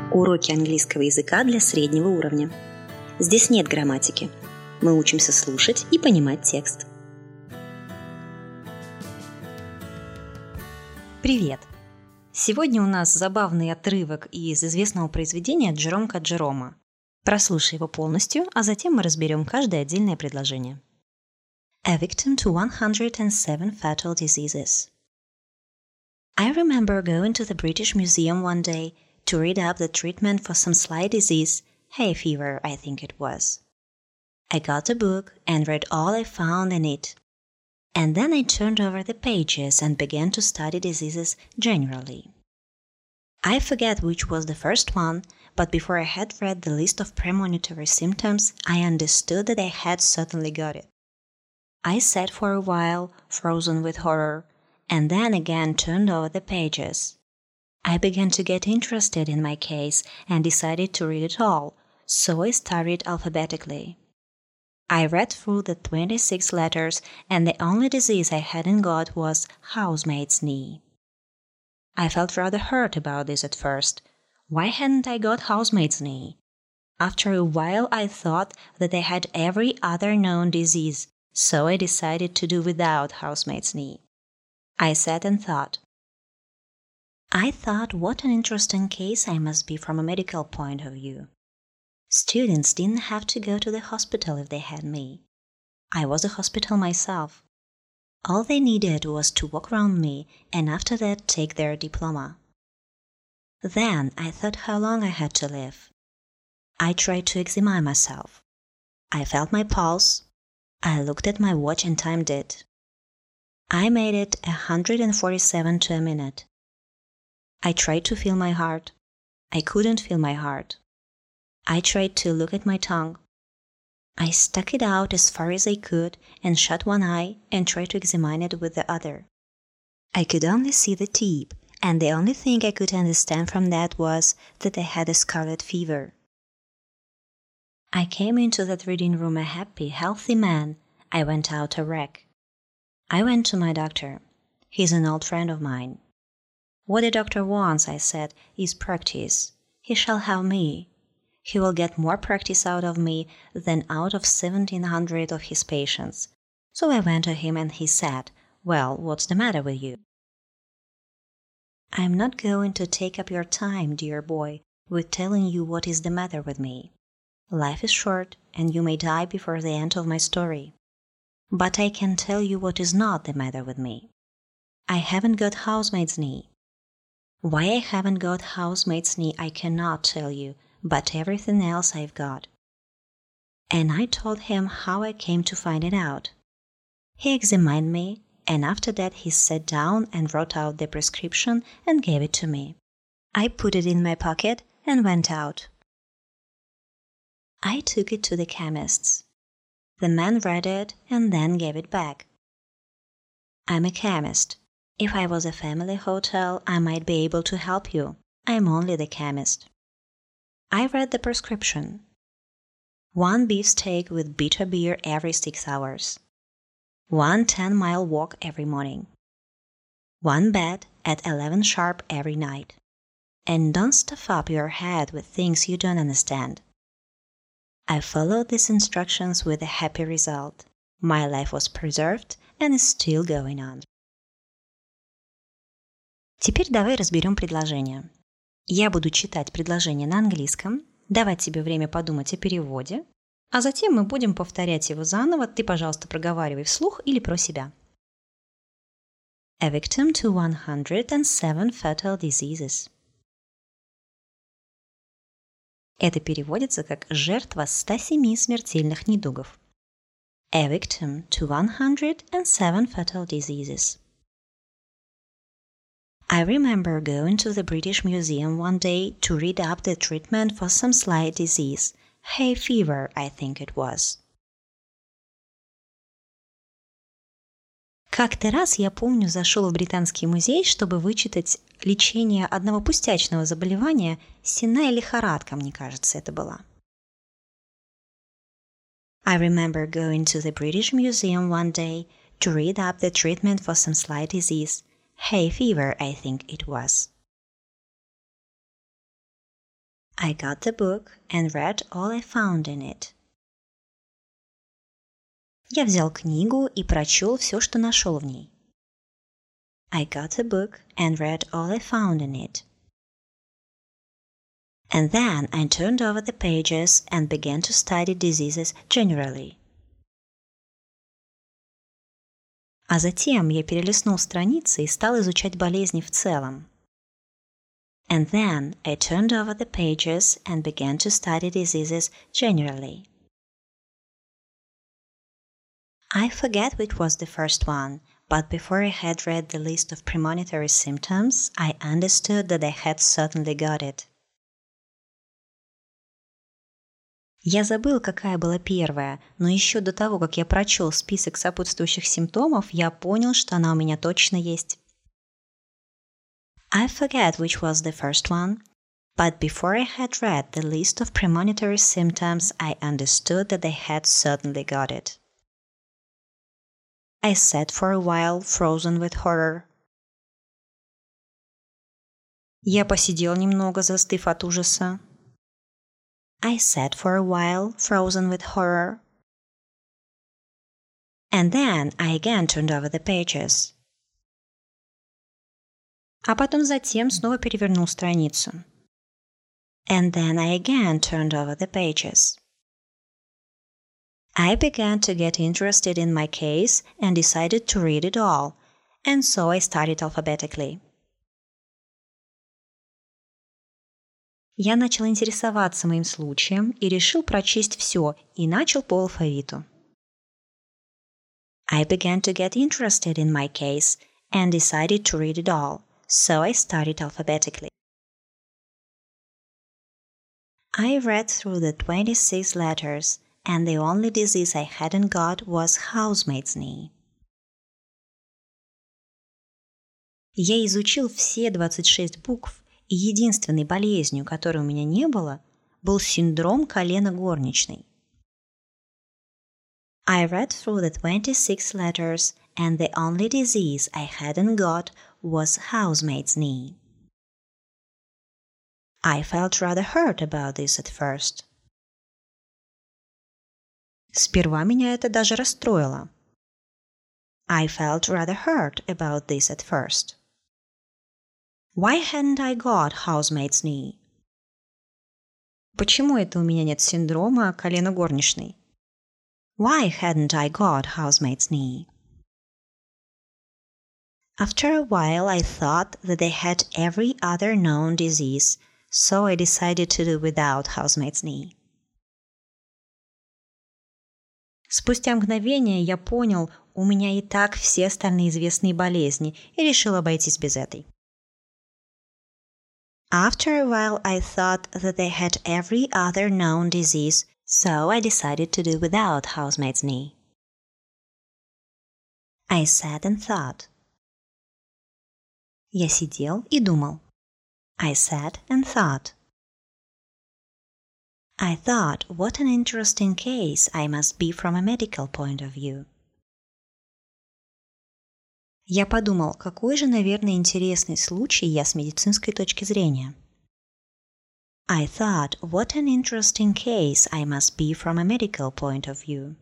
Уроки английского языка для среднего уровня. Здесь нет грамматики. Мы учимся слушать и понимать текст. Привет! Сегодня у нас забавный отрывок из известного произведения Джеромка Джерома. Прослушай его полностью, а затем мы разберем каждое отдельное предложение. A victim to 107 fatal diseases. I remember going to the British Museum one day to read up the treatment for some slight disease, hay fever, I think it was. I got the book and read all I found in it. And then I turned over the pages and began to study diseases generally. I forget which was the first one, but before I had read the list of premonitory symptoms, I understood that I had certainly got it. I sat for a while, frozen with horror, and then again turned over the pages. I began to get interested in my case and decided to read it all, so I started alphabetically. I read through the 26 letters, and the only disease I hadn't got was housemaid's knee. I felt rather hurt about this at first. Why hadn't I got housemaid's knee? After a while I thought that I had every other known disease, so I decided to do without housemaid's knee. I sat and thought. I thought what an interesting case I must be from a medical point of view. Students didn't have to go to the hospital if they had me. I was a hospital myself. All they needed was to walk around me and after that take their diploma. Then I thought how long I had to live. I tried to examine myself. I felt my pulse. I looked at my watch and timed it. I made it 147 to a minute. I tried to feel my heart. I couldn't feel my heart. I tried to look at my tongue. I stuck it out as far as I could and shut one eye and tried to examine it with the other. I could only see the tip, and the only thing I could understand from that was that I had a scarlet fever. I came into that reading room a happy, healthy man. I went out a wreck. I went to my doctor. He's an old friend of mine. What a doctor wants, I said, is practice. He shall have me. He will get more practice out of me than out of 1,700 of his patients. So I went to him and he said, "Well, what's the matter with you?" I'm not going to take up your time, dear boy, with telling you what is the matter with me. Life is short and you may die before the end of my story. But I can tell you what is not the matter with me. I haven't got housemaid's knee. Why I haven't got housemaid's knee I cannot tell you, but everything else I've got. And I told him how I came to find it out. He examined me, and after that he sat down and wrote out the prescription and gave it to me. I put it in my pocket and went out. I took it to the chemist's. The man read it and then gave it back. I'm a chemist. If I was a family hotel, I might be able to help you. I'm only the chemist. I read the prescription. 1 beefsteak with bitter beer every 6 hours. 1 10-mile walk every morning. 1 bed at 11 sharp every night. And don't stuff up your head with things you don't understand. I followed these instructions with a happy result. My life was preserved and is still going on. Теперь давай разберем предложение. Я буду читать предложение на английском, давать тебе время подумать о переводе, а затем мы будем повторять его заново. Ты, пожалуйста, проговаривай вслух или про себя. A victim to 107 fatal diseases. Это переводится как «жертва 107 смертельных недугов». A victim to 107 fatal diseases. I remember going to the British Museum one day to read up the treatment for some slight disease, hay fever, I think it was. Как-то раз, я помню, зашел в Британский музей, чтобы вычитать лечение одного пустячного заболевания, сенная лихорадка, мне кажется, это была. I remember going to the British Museum one day to read up the treatment for some slight disease, hay fever, I think it was. I got the book and read all I found in it. Я взял книгу и прочел все, что нашел в ней. I got the book and read all I found in it. And then I turned over the pages and began to study diseases generally. А затем я перелистнул страницы и стал изучать болезни в целом. And then I turned over the pages and began to study diseases generally. I forget which was the first one, but before I had read the list of premonitory symptoms, I understood that I had certainly got it. Я забыл, какая была первая, но еще до того, как я прочел список сопутствующих симптомов, я понял, что она у меня точно есть. I forget which was the first one, but before I had read the list of premonitory symptoms, I understood that I had certainly got it. I sat for a while, frozen with horror. Я посидел немного, застыв от ужаса. I sat for a while, frozen with horror. And then I again turned over the pages. А потом затем снова перевернул страницу. And then I again turned over the pages. I began to get interested in my case and decided to read it all, and so I started alphabetically. Я начал интересоваться моим случаем и решил прочесть все, и начал по алфавиту. I began to get interested in my case and decided to read it all, so I started alphabetically. I read through the 26 letters, and the only disease I hadn't got was housemaid's knee. Я изучил все 26 букв, и единственной болезнью, которой у меня не было, был синдром колена горничной. I read through the 26 letters, and the only disease I hadn't got was housemaid's knee. I felt rather hurt about this at first. Сперва меня это даже расстроило. I felt rather hurt about this at first. Why hadn't I got housemaid's knee? Почему это у меня нет синдрома колена горничной? Why hadn't I got housemaid's knee? After a while, I thought that I had every other known disease, so I decided to do without housemaid's knee. Спустя мгновение я понял, у меня и так все остальные известные болезни, и решил обойтись без этой. After a while, I thought that I had every other known disease, so I decided to do without housemaid's knee. I sat and thought. Я сидел и думал. I sat and thought. I thought, what an interesting case I must be from a medical point of view. Я подумал, какой же, наверное, интересный случай я с медицинской точки зрения. I thought, what an interesting case I must be from a medical point of view.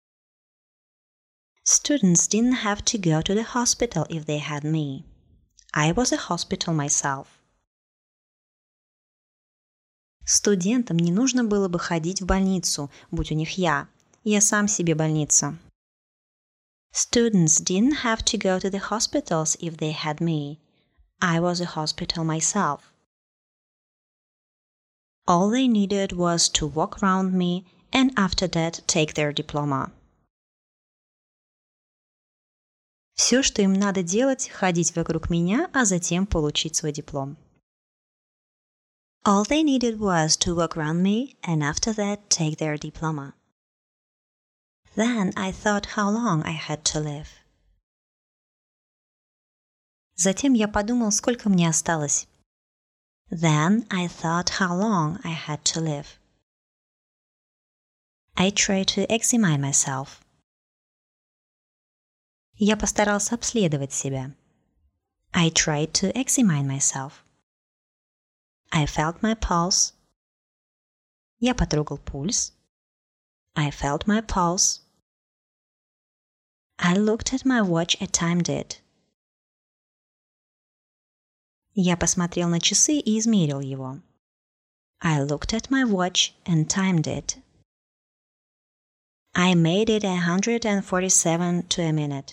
Students didn't have to go to the hospital if they had me. I was a hospital myself. Студентам не нужно было бы ходить в больницу, будь у них я. Я сам себе больница. Students didn't have to go to the hospitals if they had me. I was a hospital myself. All they needed was to walk around me and after that take their diploma. Все, что им надо делать, ходить вокруг меня, а затем получить свой диплом. All they needed was to walk around me and after that take their diploma. Then I thought how long I had to live. Затем я подумал, сколько мне осталось. Then I thought how long I had to live. I tried to examine myself. Я постарался обследовать себя. I tried to examine myself. I felt my pulse. Я потрогал пульс. I felt my pulse. I looked at my watch and timed it. Я посмотрел на часы и измерил его. I looked at my watch and timed it. I made it 147 to a minute.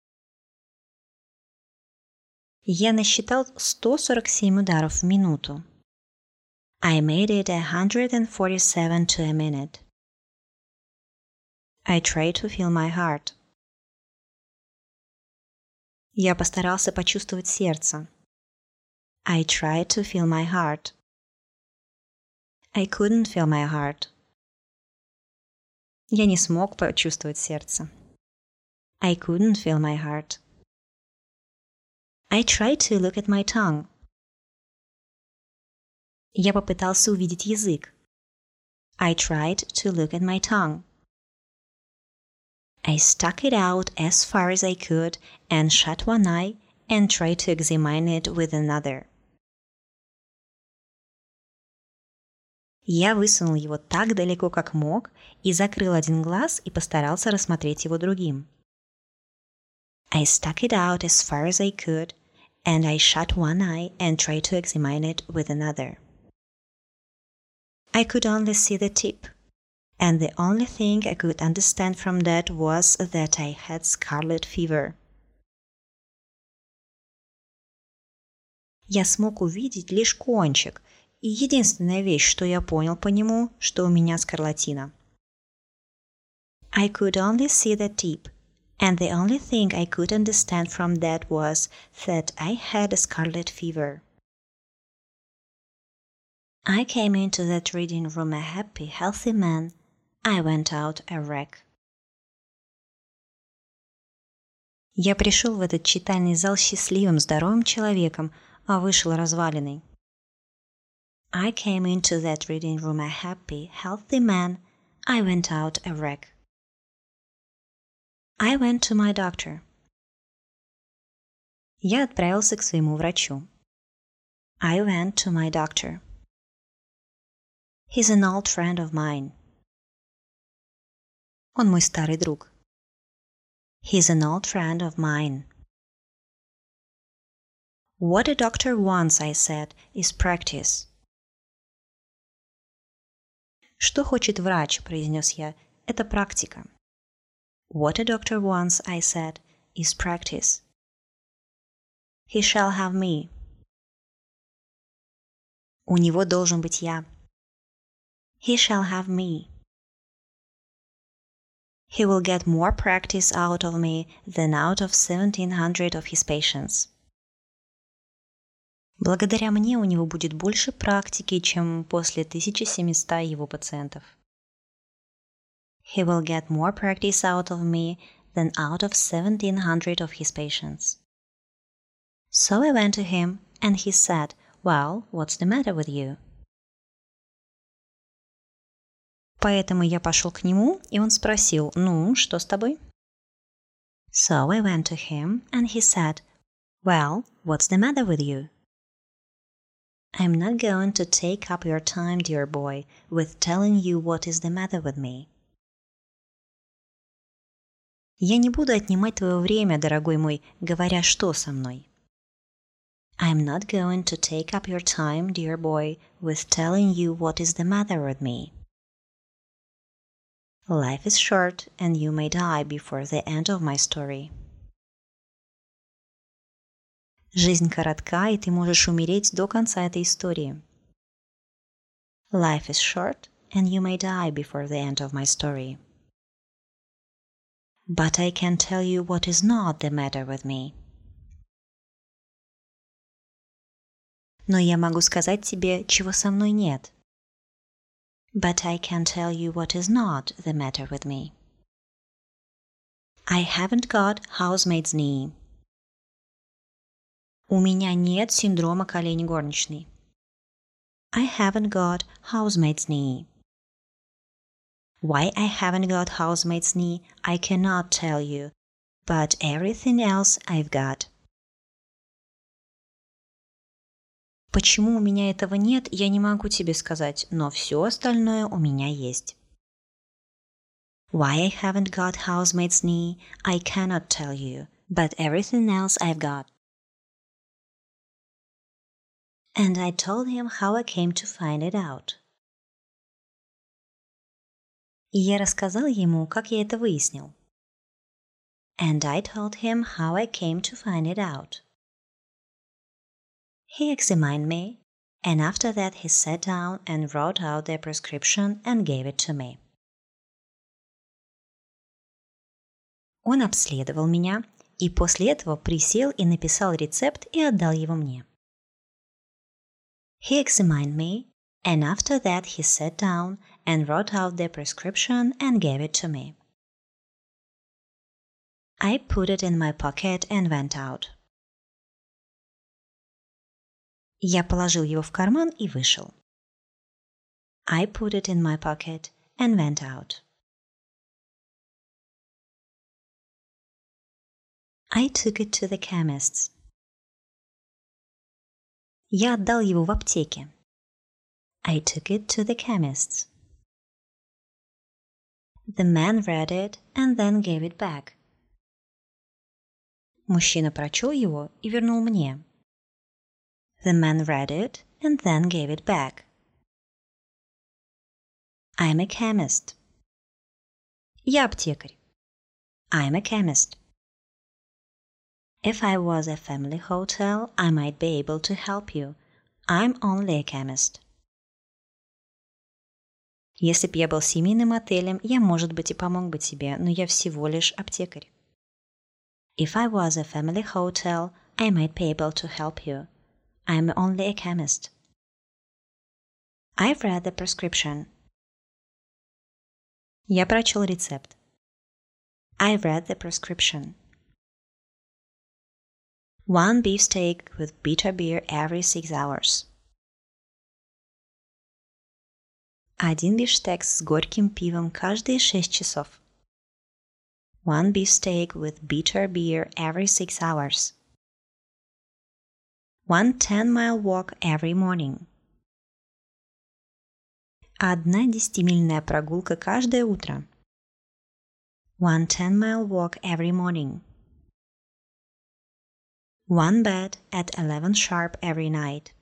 Я насчитал 147 ударов в минуту. I made it 147 to a minute. I tried to feel my heart. Я постарался почувствовать сердце. I tried to feel my heart. I couldn't feel my heart. Я не смог почувствовать сердце. I couldn't feel my heart. I tried to look at my tongue. Я попытался увидеть язык. I tried to look at my tongue. I stuck it out as far as I could and shut one eye and tried to examine it with another. Я высунул его так далеко, как мог, и закрыл один глаз и постарался рассмотреть его другим. I stuck it out as far as I could, and I shut one eye and tried to examine it with another. I could only see the tip, and the only thing I could understand from that was that I had scarlet fever. Я смог увидеть лишь кончик, и единственная вещь, что я понял по нему, что у меня скарлатина. I could only see the tip, and the only thing I could understand from that was that I had a scarlet fever. I came into that reading room a happy, healthy man. I went out a wreck. Я пришел в этот читальный зал счастливым, здоровым человеком, а вышел разваленный. I came into that reading room a happy, healthy man. I went out a wreck. I went to my doctor. Я отправился к своему врачу. I went to my doctor. He's an old friend of mine. Он мой старый друг. He's an old friend of mine. What a doctor wants, I said, is practice. Что хочет врач, произнес я, это практика. What a doctor wants, I said, is practice. He shall have me. У него должен быть я. He shall have me. He will get more practice out of me than out of 1,700 of his patients. Благодаря мне у него будет больше практики, чем после 1700 его пациентов. He will get more practice out of me than out of 1,700 of his patients. So I went to him, and he said, "Well, what's the matter with you?" Поэтому я пошел к нему, и он спросил, ну, что с тобой? So I went to him, and he said, "Well, what's the matter with you?" I'm not going to take up your time, dear boy, with telling you what is the matter with me. Я не буду отнимать твое время, дорогой мой, говоря, что со мной. I'm not going to take up your time, dear boy, with telling you what is the matter with me. Life is short, and you may die before the end of my story. Жизнь коротка, и ты можешь умереть до конца этой истории. Life is short, and you may die before the end of my story. But I can tell you what is not the matter with me. Но я могу сказать тебе, чего со мной нет. But I can tell you what is not the matter with me. I haven't got housemaid's knee. У меня нет синдрома колени горничной. I haven't got housemaid's knee. Why I haven't got housemaid's knee, I cannot tell you, but everything else I've got. Почему у меня этого нет, я не могу тебе сказать, но все остальное у меня есть. Why I haven't got housemaid's knee, I cannot tell you, but everything else I've got. And I told him how I came to find it out. И я рассказал ему, как я это выяснил. And I told him how I came to find it out. He examined me, and after that he sat down and wrote out the prescription and gave it to me. Он обследовал меня и после этого присел и написал рецепт и отдал его мне. He examined me, and after that he sat down and wrote out the prescription and gave it to me. I put it in my pocket and went out. Я положил его в карман и вышел. I put it in my pocket and went out. I took it to the chemist's. Я отдал его в аптеке. I took it to the chemist's. The man read it and then gave it back. Мужчина прочел его и вернул мне. The man read it and then gave it back. I'm a chemist. Я аптекарь. I'm a chemist. If I was a family hotel, I might be able to help you. I'm only a chemist. Если б я был семейным отелем, я, может быть, и помог бы тебе, но я всего лишь аптекарь. If I was a family hotel, I might be able to help you. I'm only a chemist. I've read the prescription. Я прочел рецепт. I've read the prescription. 1 beefsteak with bitter beer every 6 hours. 1 бифштекс с горьким пивом каждые 6 часов. 1 beefsteak with bitter beer every 6 hours. 1 10-mile walk every morning. 1 10-мильная прогулка каждое утро. 1 10-mile walk every morning. 1 bed at 11 sharp every night.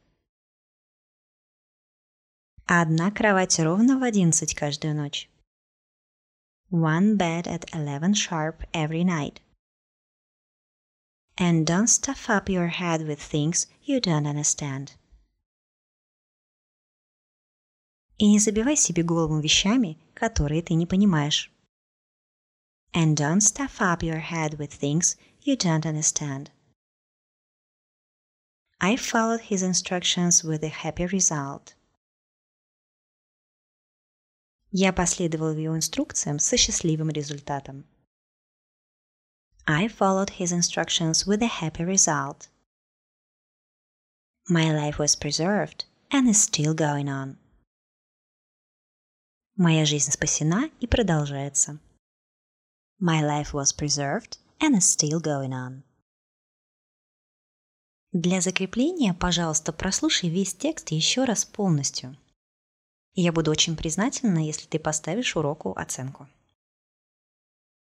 1 кровать ровно в 11 каждую ночь. 1 bed at 11 sharp every night. And don't stuff up your head with things you don't understand. И не забивай себе голову вещами, которые ты не понимаешь. And don't stuff up your head with things you don't understand. I followed his instructions with a happy result. Я последовал его инструкциям со счастливым результатом. I followed his instructions with a happy result. My life was preserved and is still going on. Моя жизнь спасена и продолжается. My life was preserved and is still going on. Для закрепления, пожалуйста, прослушай весь текст еще раз полностью. Я буду очень признательна, если ты поставишь уроку оценку.